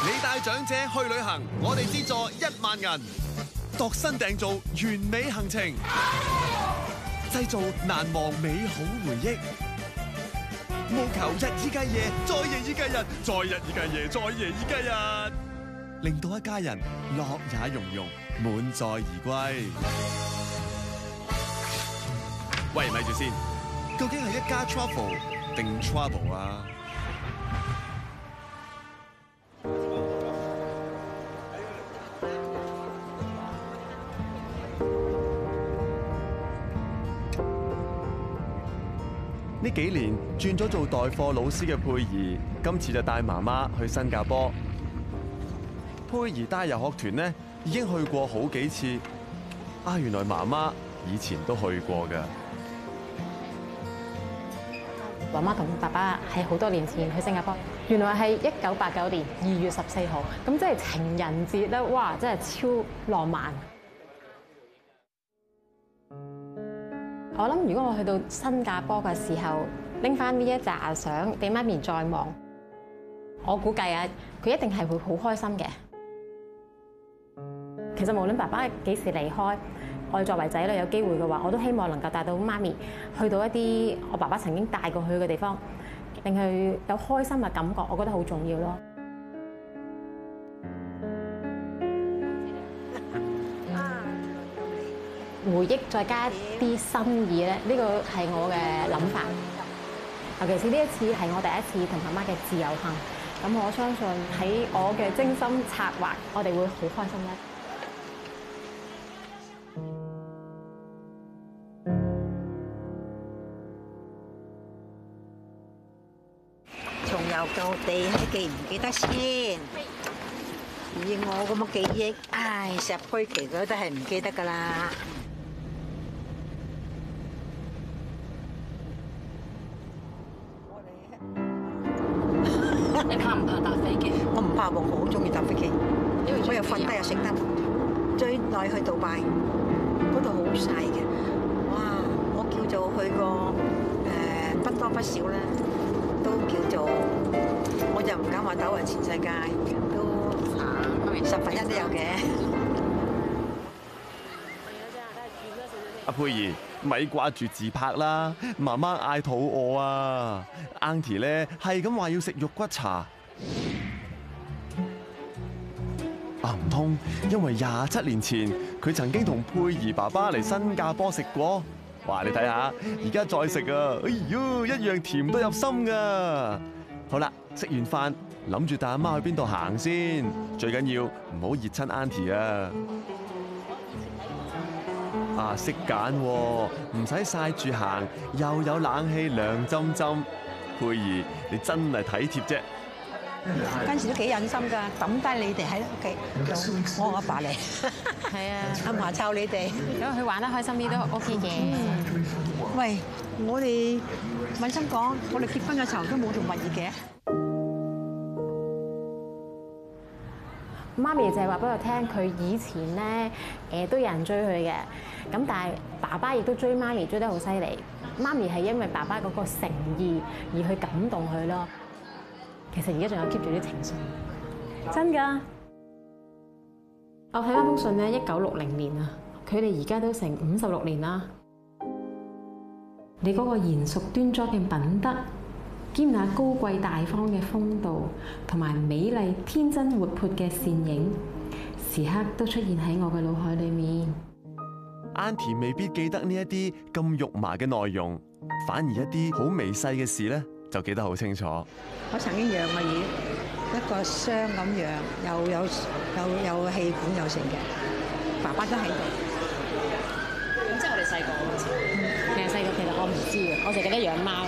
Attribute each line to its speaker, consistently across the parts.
Speaker 1: 你帶長者去旅行，我哋資助1萬銀，度身訂造完美行程，製造難忘美好回憶。務求日以繼夜，再夜以繼日，再日以繼夜，再夜以繼日，令到一家人樂也融融，滿載而歸。喂，咪住先，究竟係一家 travel 定 trouble 啊？呢幾年轉咗做代課老師嘅佩儀，今次就帶媽媽去新加坡。佩儀帶遊學團呢已經去過好幾次，原來媽媽以前都去過㗎。
Speaker 2: 媽媽同爸爸係好多年前去新加坡，原來係1989年2月14號，咁即係情人節咧，哇！真係超浪漫。我諗如果我去到新加坡嘅時候，拎翻呢一紮相俾媽咪再望，我估計啊，佢一定係會好開心嘅。其實無論爸爸幾時離開，我哋作為仔女有機會嘅話，我都希望能夠帶到媽咪去到一啲我爸爸曾經帶過去嘅地方，令佢有開心嘅感覺，我覺得好重要咯。回憶再加啲心意咧，呢個係我嘅諗法。尤其是呢一次係我第一次同媽媽嘅自由行，咁我相信喺我嘅精心策劃，我哋會好開心咧。
Speaker 3: 重遊舊地，你記唔記得先？以我咁嘅記憶，石灰旗嗰都係唔記得㗎啦。
Speaker 4: 你怕唔怕搭飛機？
Speaker 3: 我唔怕喎，我好中意搭飛機。我又瞓低又食得。最耐去杜拜，嗰度好細嘅。哇！我叫做去過不多不少啦，都叫做我就唔敢話走勻全世界，都1/10都有嘅。
Speaker 1: 阿佩儀，咪掛住自拍啦！媽媽嗌肚餓啊 ，Auntie 咧係咁話要食肉骨茶。唔通因為27年前佢曾經同佩儀爸爸嚟新加坡食過？哇！你睇下，而家再食啊，哎喲，一樣甜到入心噶。好啦，食完飯諗住帶阿媽去邊度行先？最緊要唔好熱親 Auntie 啊！識揀喎，唔使曬住行，又有冷氣涼浸浸。佩儀，你真係體貼啫！
Speaker 3: 嗰陣時都幾忍心㗎，抌低你哋喺屋企，我阿爸嚟，
Speaker 2: 係啊，
Speaker 3: 阿嫲湊你哋，
Speaker 2: 咁佢玩得開心啲都 OK 嘅。
Speaker 3: 喂，我哋問心講，我哋結婚嘅時候都冇做蜜月嘅。
Speaker 2: 媽咪就係話俾我聽，佢以前咧都有人追佢嘅，咁但係爸爸亦都追媽咪追得好犀利。媽咪係因為爸爸嗰個誠意而去感動佢咯。其實而家仲有 keep 住啲情緒，真㗎。我睇翻封信咧，1960年啊，佢哋而家都成56年啦。你嗰個嚴肅端莊嘅品德，兼那高貴大方嘅風度，同埋美麗天真活潑嘅倩影，時刻都出現喺我嘅腦海裏面。
Speaker 1: Auntie 未必記得呢一啲咁肉麻嘅內容，反而一啲好微細嘅事咧，就記得好清楚。
Speaker 3: 我曾經養過魚，一個箱咁養，有氣管有成嘅，爸爸都喺度。
Speaker 4: 咁即係我哋細個嗰陣時。
Speaker 2: 你係細個，其實我唔知嘅，我淨係記得養貓。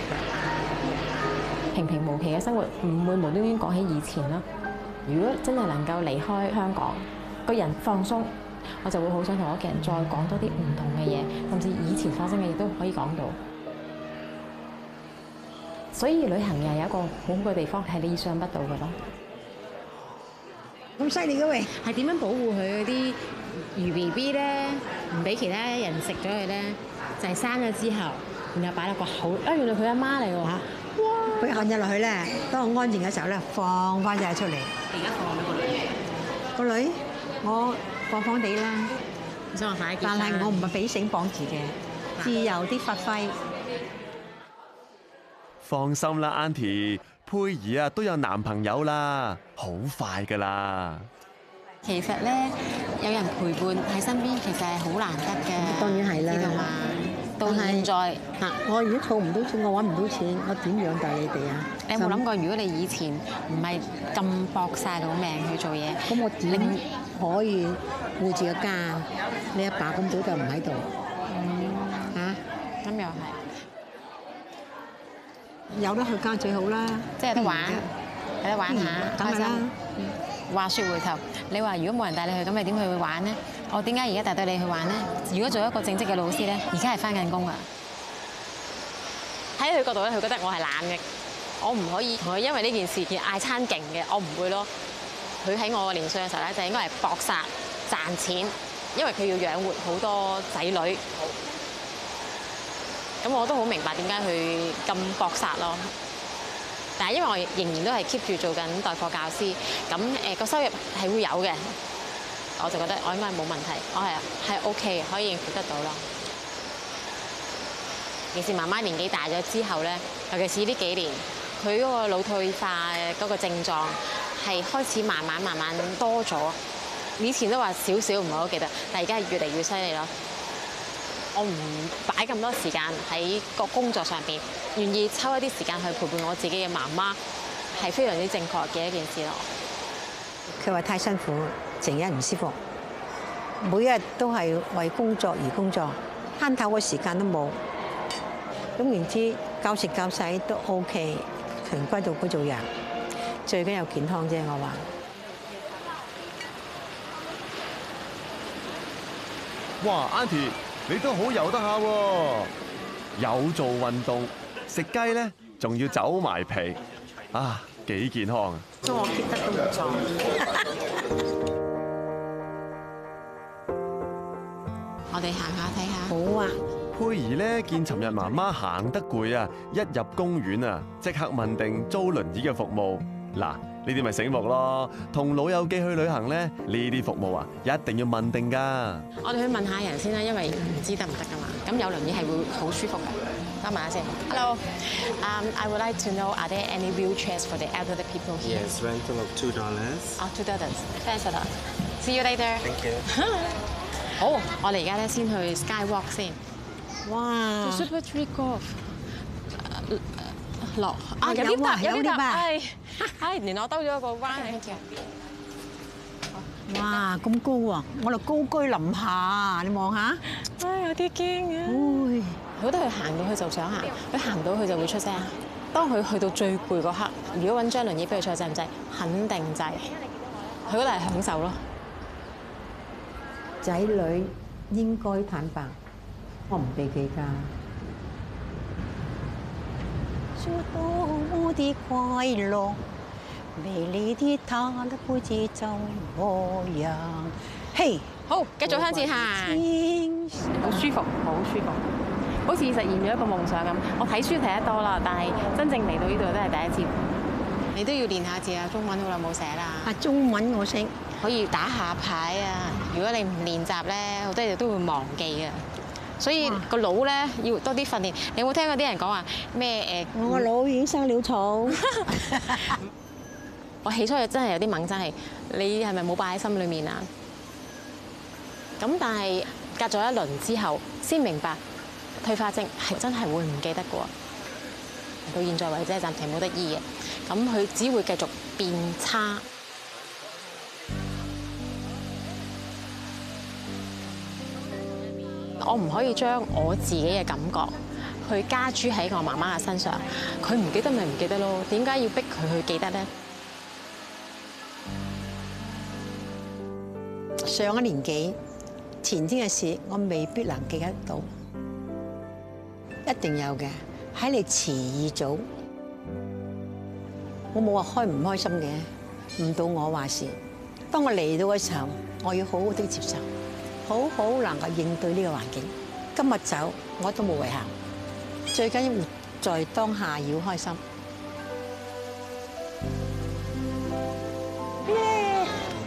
Speaker 2: 平平無奇嘅生活，唔會無端端講起以前啦。如果真係能夠離開香港，個人放鬆，我就會好想同屋企人再講多啲唔同嘅嘢，甚至以前發生嘅嘢都可以講到。所以旅行又有一個好好嘅地方，係你意想不到嘅咯。
Speaker 3: 咁犀利嘅喂！
Speaker 2: 係點樣保護佢嗰啲魚 BB 咧？唔俾其他人食咗佢咧，就係生咗之後，然後擺落個口。原來佢阿媽嚟㗎嚇！哇！
Speaker 3: 佢按咗落去咧，當我安靜嘅時候咧，放翻隻出嚟。
Speaker 4: 而家放咗個女，
Speaker 3: 個女，我放放地啦，
Speaker 4: 你想話快啲結
Speaker 3: 但係
Speaker 4: 婚
Speaker 3: 我唔係俾繩綁住嘅，自由啲發揮。
Speaker 1: 放心啦，Auntie，佩兒啊都有男朋友啦，好快噶啦。
Speaker 2: 其實咧，有人陪伴喺身邊，其實係好難得嘅。
Speaker 3: 當然係啦
Speaker 2: 知道嘛？到現在，
Speaker 3: 嗱，我如果儲唔到錢，我揾唔到錢，我點養大你哋啊？
Speaker 2: 你有冇諗過，如果你以前唔係咁搏晒到命去做嘢，
Speaker 3: 咁我點可以顧住個家？你阿爸咁早就唔喺度，嚇
Speaker 2: 咁又係，
Speaker 3: 有得去家最好啦。
Speaker 2: 即係有得玩，有得玩下，開
Speaker 3: 梗係啦
Speaker 2: 心。話説回頭，你話如果冇人帶你去，咁你點去玩呢？我點解而家帶到你去玩呢？如果做一個正職嘅老師咧，而家係翻緊工啊！喺佢角度咧，佢覺得我係懶嘅，我唔可以同佢因為呢件事而嗌餐勁嘅，我唔會咯。佢喺我個年歲嘅時候咧，就應該係搏殺賺錢，因為佢要養活好多仔女。咁我都好明白點解佢咁搏殺咯。但係因為我仍然都係 keep 住做緊代課教師，咁個收入係會有嘅，我就覺得我應該係冇問題，我係 OK 嘅，可以應付得到咯。尤其是媽媽年紀大咗之後咧，尤其是呢幾年，佢嗰個腦退化嗰個症狀係開始慢慢多咗。以前都話少少唔係好記得，但係而家係越嚟越犀利咯。我唔擺咁多時間喺個工作上邊，願意抽一啲時間去陪伴我自己嘅媽媽，係非常之正確嘅一件事咯。
Speaker 3: 佢話太辛苦，成日唔舒服，每日都係為工作而工作，慳頭嘅時間都冇。咁然之教食教洗都 OK， 循規蹈矩做人，最緊要健康啫。我話。
Speaker 1: 哇，Auntie，你都好游得下喎，有做運動，食雞咧仲要走埋皮，啊，幾健康啊！
Speaker 3: 所以我 keep 得都唔錯。
Speaker 2: 我哋行下睇下。
Speaker 3: 好啊！
Speaker 1: 佩兒咧見尋日媽媽行得攰啊，一入公園啊，即刻問定租輪椅嘅服務。嗱，呢啲咪醒目咯，同老友記去旅行咧，呢啲服務啊，一定要問定㗎。
Speaker 2: 我哋去問下人先啦，因為唔知得唔得噶嘛。咁有輪椅係會好舒服嘅。等問下先。Hello， I would like to know are there any wheelchairs for the elderly people here?
Speaker 5: Yes, rental of $2.
Speaker 2: $2. Thanks a lot. See you later.
Speaker 5: Thank you.
Speaker 2: 好，我哋而家咧先去 Skywalk 先。
Speaker 3: 哇！
Speaker 2: Super Tree Golf 落
Speaker 3: 啊
Speaker 2: 有啲搭
Speaker 3: 有啲搭
Speaker 2: 係，連我兜咗一個彎嚟。
Speaker 3: 哇！咁高喎，我哋高居臨下，你望下。
Speaker 2: 唉，有啲驚嘅。
Speaker 3: 唉，
Speaker 2: 覺得佢行到去就想行，佢行唔到去就會出聲。當佢去到最攰嗰刻，如果揾張輪椅俾佢坐，制唔制？肯定制。佢覺得係享受咯。
Speaker 3: 仔女應該坦白，我唔避忌㗎。說多麼的快樂，美麗的他的輩子就我樣。嘿，
Speaker 2: 好，繼續向前行。好舒服，好舒服，好似實現咗一個夢想咁。我睇書睇得多啦，但係真正嚟到呢度都係第一次。你都要練下字啊，中文好耐冇寫啦。
Speaker 3: 啊，中文我識。
Speaker 2: 可以打下牌啊！如果你唔練習咧，好多嘢都會忘記嘅。所以個腦咧要多啲訓練。你有冇聽過啲人講話咩誒？
Speaker 3: 我個腦已經生了草。
Speaker 2: 我起初真係有啲猛，真係你係咪冇擺喺心裏面啊？咁但係隔咗一輪之後，先明白退化症係真係會唔記得嘅喎。到現在為止係暫時冇得醫嘅，咁佢只會繼續變差。我唔可以將我自己嘅感覺去加諸喺我媽媽嘅身上，佢唔記得咪唔記得咯，點解要逼佢去記得咧？
Speaker 3: 上一年紀前天嘅事，我未必能記得到，一定有嘅。喺你遲已早，我冇話開唔開心嘅，唔到我話事。當我嚟到嘅時候，我要好好地接受。好好能夠應對呢個環境。今日走我都冇遺憾，最緊要活在當下，要開心。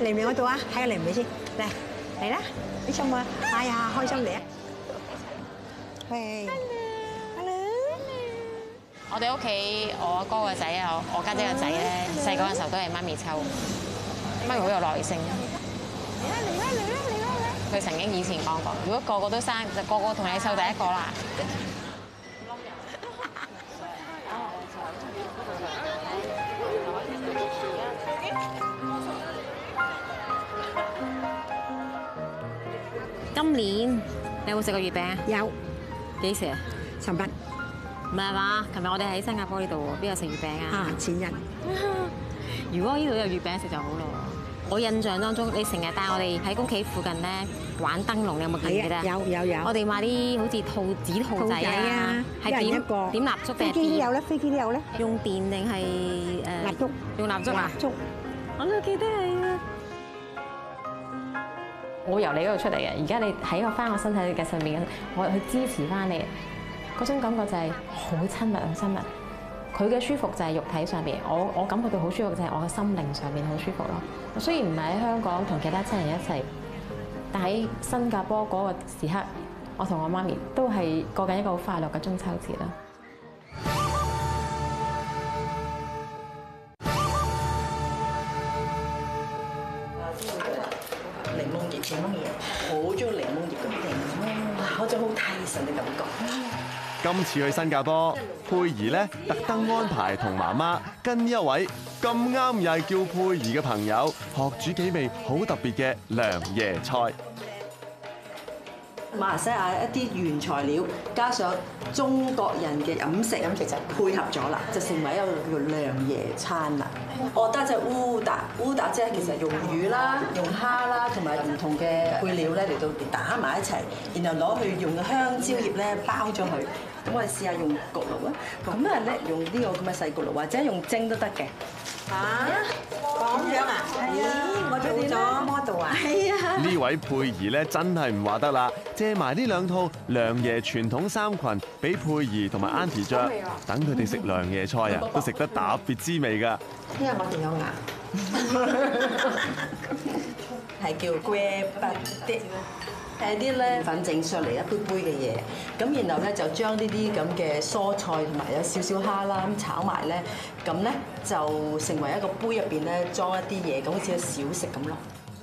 Speaker 3: 嚟唔嚟我度啊？睇下嚟唔嚟先，嚟啦！你做乜？哎呀，開心嚟啊！喂 ，hello，
Speaker 2: 我哋屋企我阿哥個仔啊，我家姐個仔咧，細個嘅時候都係媽咪湊，媽咪好有耐性。嚟啦嚟啦嚟啦嚟啦！佢曾經以前講過，如果個個都生，就個個同你湊第一個啦。今年你有冇食過月餅啊？
Speaker 3: 有
Speaker 2: 幾時啊？
Speaker 3: 尋日
Speaker 2: 唔係嘛？琴日我哋喺新加坡呢度喎，邊有食月餅啊？
Speaker 3: 前日
Speaker 2: 如果呢度有月餅食就好咯。我印象當中，你成日帶我哋喺屋企附近咧玩燈籠，你有冇記唔記得啊？
Speaker 3: 有。
Speaker 2: 我哋買啲好似紙兔仔啊，係點蠟燭定係
Speaker 3: 飛機都有咧，飛機都有咧。
Speaker 2: 用電定係
Speaker 3: 蠟燭？
Speaker 2: 用蠟燭啊？
Speaker 3: 燭。
Speaker 2: 我都記得係啊。我由你嗰度出嚟嘅，而家你喺翻我身體嘅上面，我去支持翻你，嗰種感覺就係好親密，好親密。佢嘅舒服就係肉體上邊，我感覺到好舒服就係我嘅心靈上面好舒服咯。雖然唔係喺香港同其他親人一齊，但喺新加坡嗰個時刻，我同我媽咪都係過緊一個好快樂嘅中秋節啦。
Speaker 5: 檸檬葉，好中意檸檬葉嘅檸檬，哇！嗰種好提神嘅感覺。
Speaker 1: 今次去新加坡，佩儀咧特登安排同媽媽跟一位咁啱又係叫佩儀嘅朋友學煮幾味好特別嘅涼椰菜。
Speaker 5: 馬來西亞一啲原材料加上中國人嘅飲食就配合咗啦，就成為一個叫涼椰餐啦。我覺得就烏達即係其實用魚啦、用蝦啦，同埋唔同嘅配料咧嚟到打埋一齊，然後攞去用香蕉葉咧包咗佢。咁我哋試下用焗爐啊，咁啊咧用呢個咁嘅細焗爐，或者用蒸都得嘅。
Speaker 3: 咁樣啊？咦，我做咗 model 啊？係啊。
Speaker 1: 呢位佩儀咧真係唔話得啦，借埋呢兩套涼椰傳統衫裙俾佩儀同埋 Auntie 着，等佢哋食涼椰菜啊，都食得特別滋味㗎。
Speaker 3: 因為我哋有牙，
Speaker 5: 係叫 grab 啲。係啲咧粉整上嚟一杯杯嘅嘢，咁然後咧就將呢啲咁嘅蔬菜同埋有少少蝦啦咁炒埋咧，咁咧就成為一個杯入邊咧裝一啲嘢，咁好似個小食咁咯。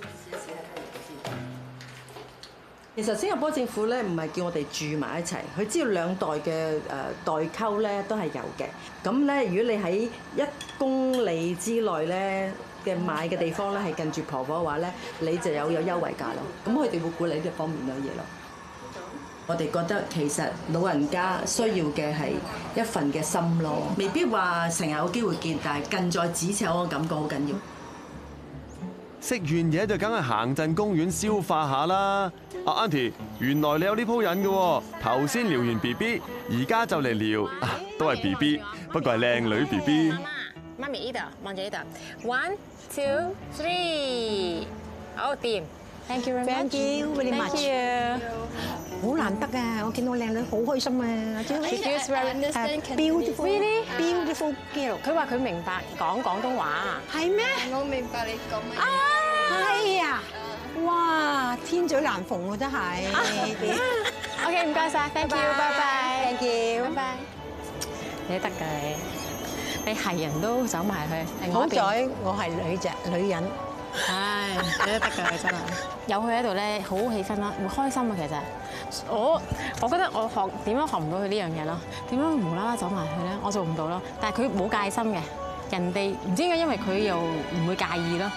Speaker 5: 其實新加坡政府咧唔係叫我哋住埋一齊，佢知道兩代嘅代溝咧都係有嘅。咁咧如果你喺1公里之內咧嘅買嘅地方咧係近住婆婆嘅話咧，你就有優惠價咯。咁佢哋會鼓勵呢方面嘅嘢咯。我哋覺得其實老人家需要嘅係一份嘅心咯，未必話成日有機會見，但係近在咫尺嗰個感覺好緊要。
Speaker 1: 食完嘢就梗係行陣公園消化下啦。阿 Auntie， 原來你有呢鋪癮嘅喎，頭先撩完 BB， 而家就嚟撩，都係 BB， 不過係靚女 BB。
Speaker 2: 媽咪呢度望住呢度 ，1 2 3，好掂 ，Thank you very much，
Speaker 3: Thank you very much。
Speaker 2: Thank you。
Speaker 3: 好難得啊！我見到靚女好開心啊！
Speaker 2: She feels very
Speaker 3: beautiful girl。
Speaker 2: 佢話佢明白講廣東話，
Speaker 3: 係咩？
Speaker 6: 我明白你講乜嘢。
Speaker 3: 係啊！哇，天嘴難逢喎，真係。
Speaker 2: OK， 唔該晒 ，Thank you，拜拜
Speaker 3: Thank you，
Speaker 2: 拜拜。你得㗎你係人都走埋去。
Speaker 3: 好在我係女人。
Speaker 2: 唉，你都得㗎，你真係有佢喺度咧，好氣氛啦，會開心啊。其實我覺得我點樣學唔到佢呢樣嘢咯？點樣無啦啦走埋去咧？我做唔到咯。但係佢冇戒心嘅，人哋唔知點解，因為佢又唔會介意咯。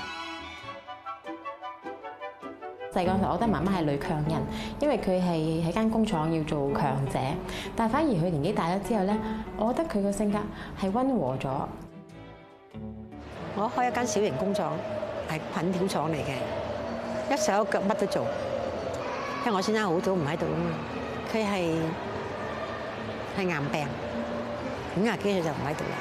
Speaker 2: 細個時候，我覺得媽媽係女強人，因為佢係喺間工廠要做強者。但係反而佢年紀大咗之後咧，我覺得佢個性格係溫和咗。
Speaker 3: 我開一間小型工廠，係粉條廠嚟嘅，一手一腳乜都做。因為我先生好早唔喺度啊嘛，佢係癌病，50幾歲就唔喺度啦。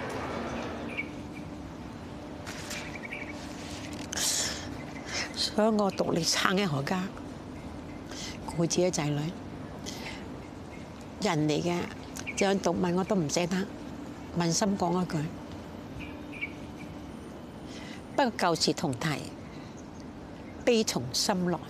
Speaker 3: 所以我獨力撐一個家，顧自己仔女。人嚟嘅，就算毒問我都唔捨得，問心講一句。不過舊事同提， 悲從心來。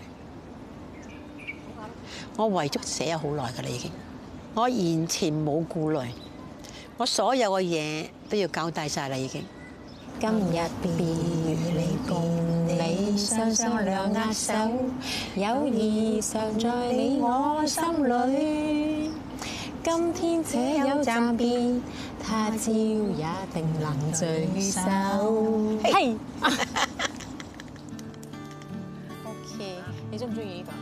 Speaker 3: 我遺囑寫咗好耐㗎啦，已經。我完全冇顧慮，我所有嘅嘢都要交代晒啦，已經。
Speaker 2: 今日別離共你雙雙兩握手，友誼常在你我心裏。今天且有暫別，他朝也定能聚首。係。OK， 你中唔中意呢個？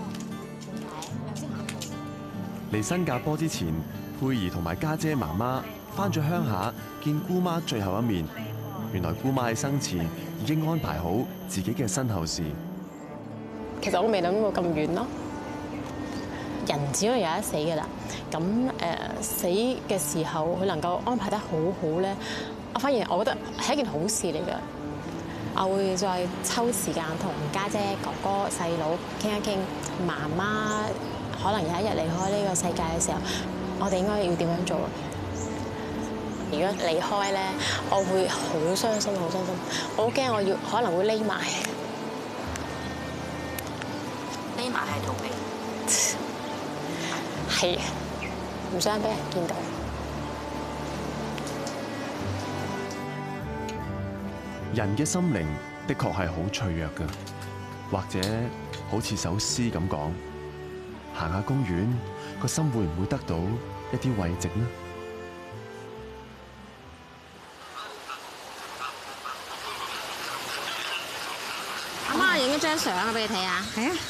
Speaker 1: 嚟新加坡之前，佩兒同埋家姐媽媽返咗鄉下見姑媽最後一面。原來姑媽喺生前已經安排好自己嘅身後事。
Speaker 2: 其實我未諗過咁遠咯。人只係有一死㗎啦。咁死嘅時候，佢能夠安排得好好咧，我反而我覺得係一件好事嚟㗎。我會再抽時間同家姐、哥哥、細佬傾一傾，媽媽可能有一日離開呢個世界嘅時候，我哋應該要點樣做？如果離開咧，我會好傷心，好傷心。我好驚，我可能會匿埋
Speaker 3: 係逃避，
Speaker 2: 係唔想俾人見到。
Speaker 1: 人嘅心靈的確係好脆弱㗎，或者好似首詩咁講，行下公園，個心會唔會得到一啲慰藉呢？
Speaker 2: 阿媽影一張相啊，俾你睇下。
Speaker 3: 係啊，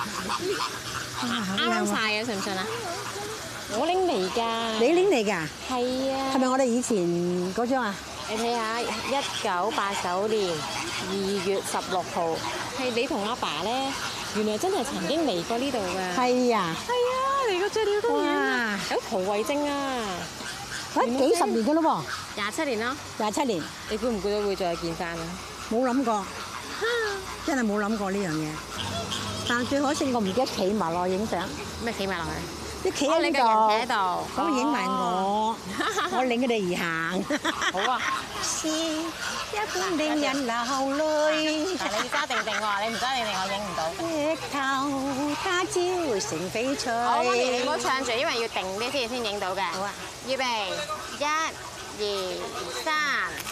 Speaker 2: 啱晒嘅，信唔信啊？我拎嚟㗎。
Speaker 3: 你拎嚟㗎？
Speaker 2: 係啊。
Speaker 3: 係咪我哋以前嗰張啊？
Speaker 2: 你睇下，1989年2月16號，係你同阿爸咧，原來真係曾經嚟過呢度㗎。
Speaker 3: 係啊。
Speaker 2: 係啊，嚟過醉鳥公園
Speaker 3: 哇！
Speaker 2: 有蒲慧晶啊！
Speaker 3: 幾十年㗎咯
Speaker 2: 27年啦。
Speaker 3: 喎，27年，
Speaker 2: 你估唔估到會再見翻啊？
Speaker 3: 冇諗過，真係冇諗過呢樣嘢。但最可惜我唔記得企埋落影相。
Speaker 2: 咩企埋落去？
Speaker 3: 啲企喺
Speaker 2: 你個人企喺
Speaker 3: 度，
Speaker 2: 度，
Speaker 3: 咁影埋我，我領佢哋而行。
Speaker 2: 好啊。
Speaker 3: 是一般令人流淚。
Speaker 2: 但係你揸定定喎，你唔揸定定我影唔到。
Speaker 3: 石頭他朝成翡翠。
Speaker 2: 好，媽咪你唔好唱住，因為要定啲先影到嘅。好啊。預備，1、2、3。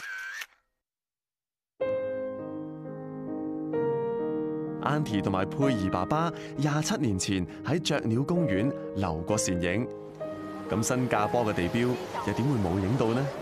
Speaker 1: Auntie 同埋佩兒爸爸27年前喺雀鳥公園留過倩影，咁新加坡嘅地標又點會冇影到呢？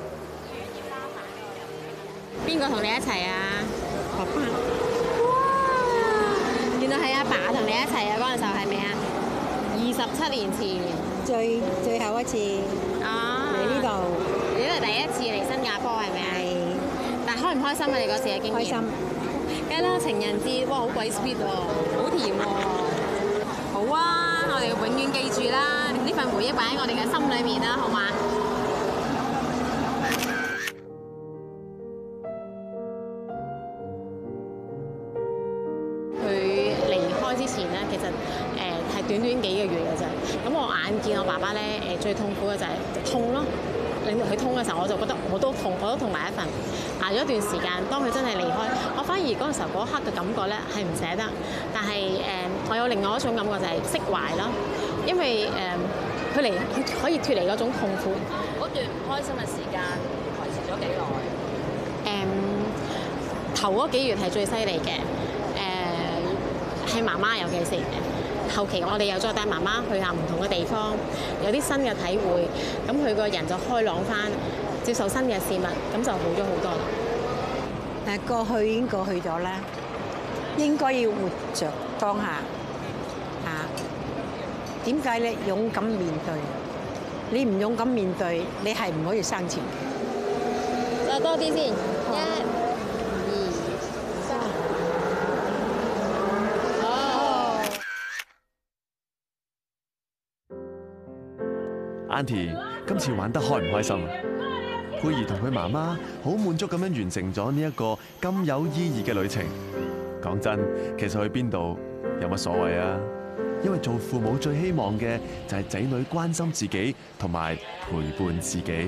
Speaker 2: 邊個同你一齊啊？爸爸。哇！原來係阿爸同你一齊啊！嗰陣時候係咪啊？27年前。
Speaker 3: 最後一次嚟呢度，
Speaker 2: 你都係第一次嚟新加坡係咪啊？係。但開唔開心啊？你嗰時嘅經驗？開心。梗係啦，情人節，哇，好鬼 sweet 喎，好甜喎。好啊，我哋永遠記住啦，呢份回憶擺喺我哋嘅心裏面啦，好嘛？佢離開之前咧，其實係短短幾個月嘅啫。咁我眼見我爸爸咧最痛苦嘅就係痛咯。令到佢痛嘅時候，我就覺得我都痛埋一份。捱咗一段時間，當佢真係離開，我反而嗰陣時候嗰一刻嘅感覺咧係唔捨得，但係我有另外一種感覺就係釋懷咯，因為佢可以脫離嗰種痛苦。
Speaker 5: 嗰段唔開心嘅時間維持咗幾耐？
Speaker 2: 頭嗰幾月係最犀利嘅，係媽媽尤其是後期我哋又再帶媽媽去下唔同嘅地方，有啲新嘅體會，咁佢個人就開朗翻，接受新嘅事物，咁就好咗好多啦。
Speaker 3: 但係過去已經過去咗啦，應該要活著當下嚇。點解咧？勇敢面對，你唔勇敢面對，你係唔可以生存。
Speaker 2: 再多啲先，1、2、3。
Speaker 1: Auntie 今次玩得開唔開心啊？佩兒同佢媽媽好滿足咁樣完成咗呢一個咁有意義嘅旅程。講真，其實去邊度有乜所謂啊？因為做父母最希望嘅就係仔女關心自己同埋陪伴自己。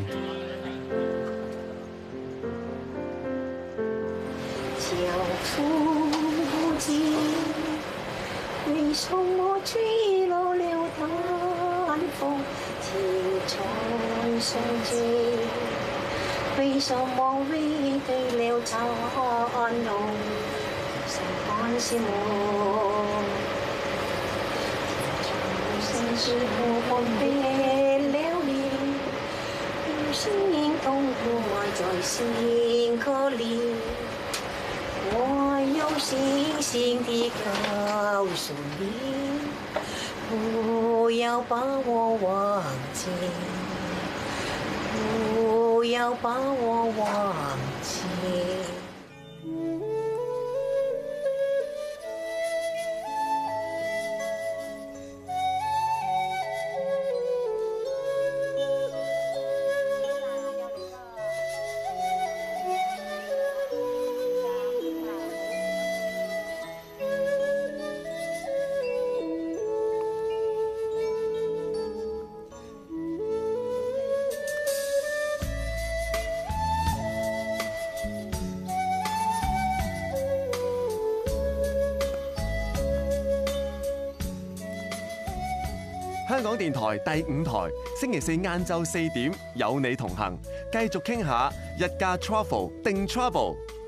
Speaker 3: 巧婦子，為什麼吹落了淡風，情在相知？為什麼背對了殘路，誰看是我？情在不分別了你，心痛苦愛在心口裡。我有信心地告訴你，不要把我忘記，不要把我忘記。
Speaker 1: 香港電台第5台，星期四晏晝4點有你同行，繼續傾下日假 travel 定 travel。